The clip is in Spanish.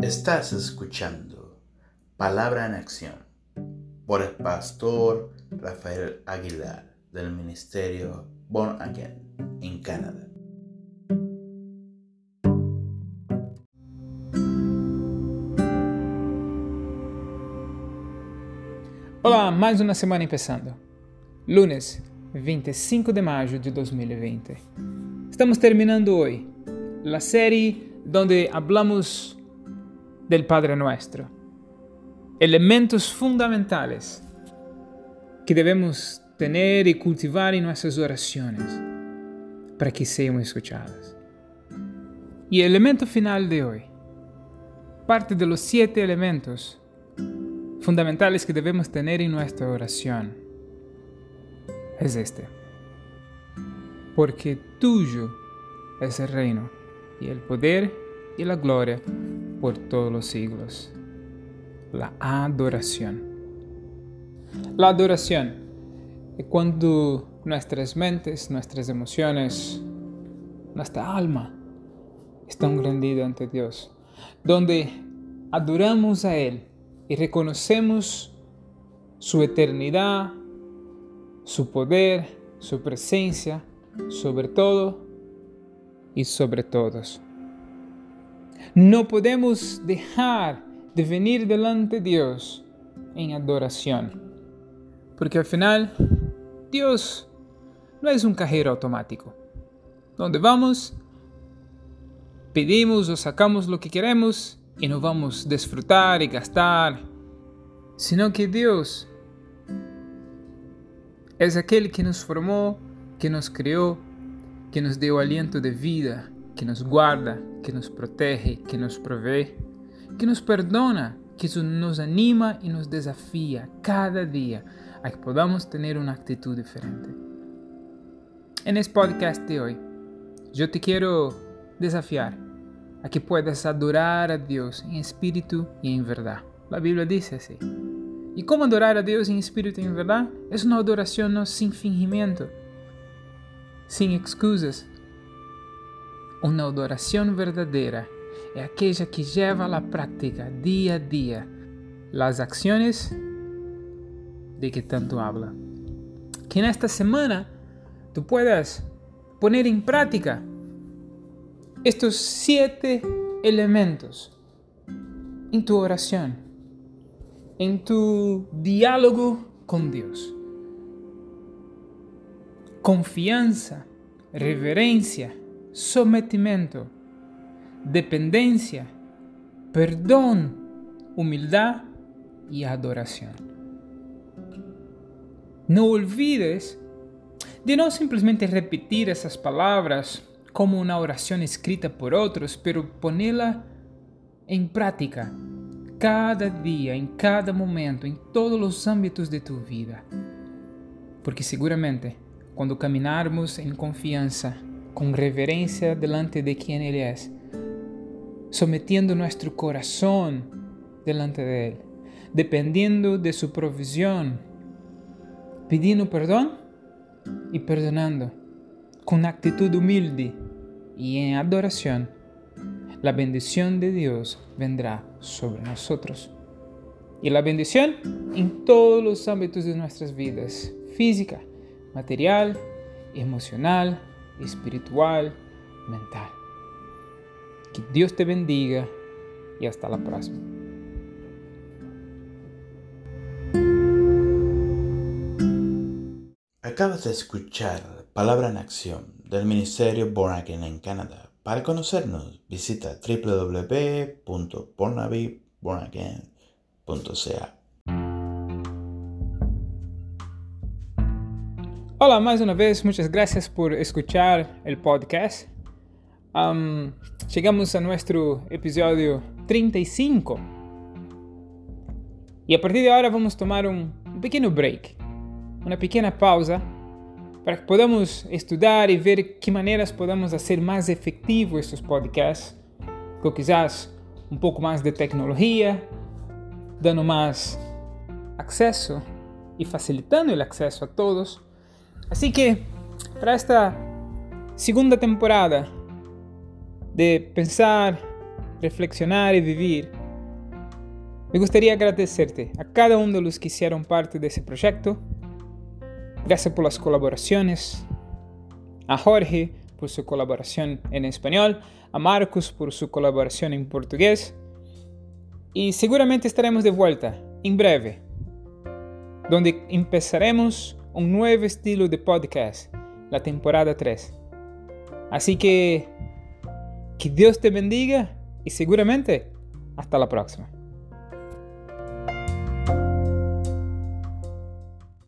Estás escuchando Palabra en Acción por el pastor Rafael Aguilar del Ministerio Born Again en Canadá. Olá, mais uma semana começando. Lunes 25 de maio de 2020. Estamos terminando hoy la serie donde hablamos del Padre Nuestro. Elementos fundamentales que debemos tener y cultivar en nuestras oraciones para que sean escuchadas. Y el elemento final de hoy, parte de los 7 elementos fundamentales que debemos tener en nuestra oración, es este: porque tuyo es el reino y el poder y la gloria por todos los siglos. La adoración. La adoración es cuando nuestras mentes, nuestras emociones, nuestra alma están rendidas ante Dios, donde adoramos a Él y reconocemos su eternidad, su poder, su presencia, sobre todo y sobre todos. No podemos dejar de venir delante de Dios en adoración, porque al final Dios no es un cajero automático, donde vamos, pedimos o sacamos lo que queremos y no vamos a disfrutar y gastar, sino que Dios es aquel que nos formó, que nos creó, que nos dio aliento de vida, que nos guarda, que nos protege, que nos provee, que nos perdona, que nos anima y nos desafía cada día a que podamos tener una actitud diferente. En este podcast de hoy, yo te quiero desafiar a que puedas adorar a Dios en espíritu y en verdad. La Biblia dice así. ¿Y cómo adorar a Dios en espíritu y en verdad? Es una adoración no sin fingimiento, sin excusas. Una adoración verdadera es aquella que lleva a la práctica día a día las acciones de que tanto habla. Que en esta semana tú puedas poner en práctica estos 7 elementos en tu oración, en tu diálogo con Dios. Confianza, reverencia, sometimiento, dependencia, perdón, humildad y adoración. No olvides de no simplemente repetir esas palabras como una oración escrita por otros, pero ponerla en práctica cada día, en cada momento, en todos los ámbitos de tu vida. Porque seguramente cuando caminarmos en confianza, con reverencia delante de quien Él es, sometiendo nuestro corazón delante de Él, dependiendo de su provisión, pidiendo perdón y perdonando, con actitud humilde y en adoración, la bendición de Dios vendrá sobre nosotros. Y la bendición en todos los ámbitos de nuestras vidas: física, material, emocional, espiritual, mental. Que Dios te bendiga y hasta la próxima. Acabas de escuchar Palabra en Acción del Ministerio Born Again en Canadá. Para conocernos, visita www.bornagain.ca. Hola, más una vez, muchas gracias por escuchar el podcast. Llegamos a nuestro episodio 35. Y a partir de ahora vamos a tomar un pequeño break, una pequeña pausa, para que podamos estudiar y ver qué maneras podemos hacer más efectivos estos podcasts, con quizás un poco más de tecnología, dando más acceso y facilitando el acceso a todos. Así que, para esta segunda temporada de pensar reflexionar y vivir. Me gustaría agradecerte a cada uno de los que hicieron parte de ese proyecto. Gracias por las colaboraciones. A Jorge por su colaboración en español, a Marcos por su colaboración en portugués. Y seguramente estaremos de vuelta en breve, donde empezaremos un nuevo estilo de podcast, la temporada 3. Así que Dios te bendiga y seguramente hasta la próxima.